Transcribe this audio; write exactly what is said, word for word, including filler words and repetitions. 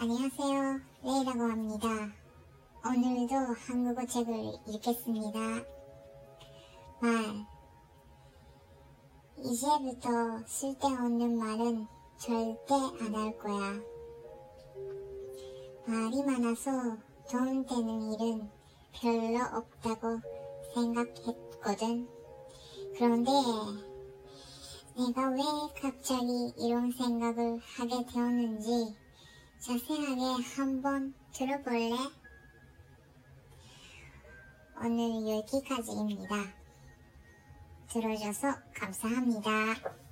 안녕하세요. 레이라고 합니다. 오늘도 한국어 책을 읽겠습니다. 말. 이제부터 쓸데없는 말은 절대 안 할 거야. 말이 많아서 돈 되는 일은 별로 없다고 생각했거든. 그런데 내가 왜 갑자기 이런 생각을 하게 되었는지 자세하게 한번 들어볼래? 오늘 여기까지입니다. 들어줘서 감사합니다.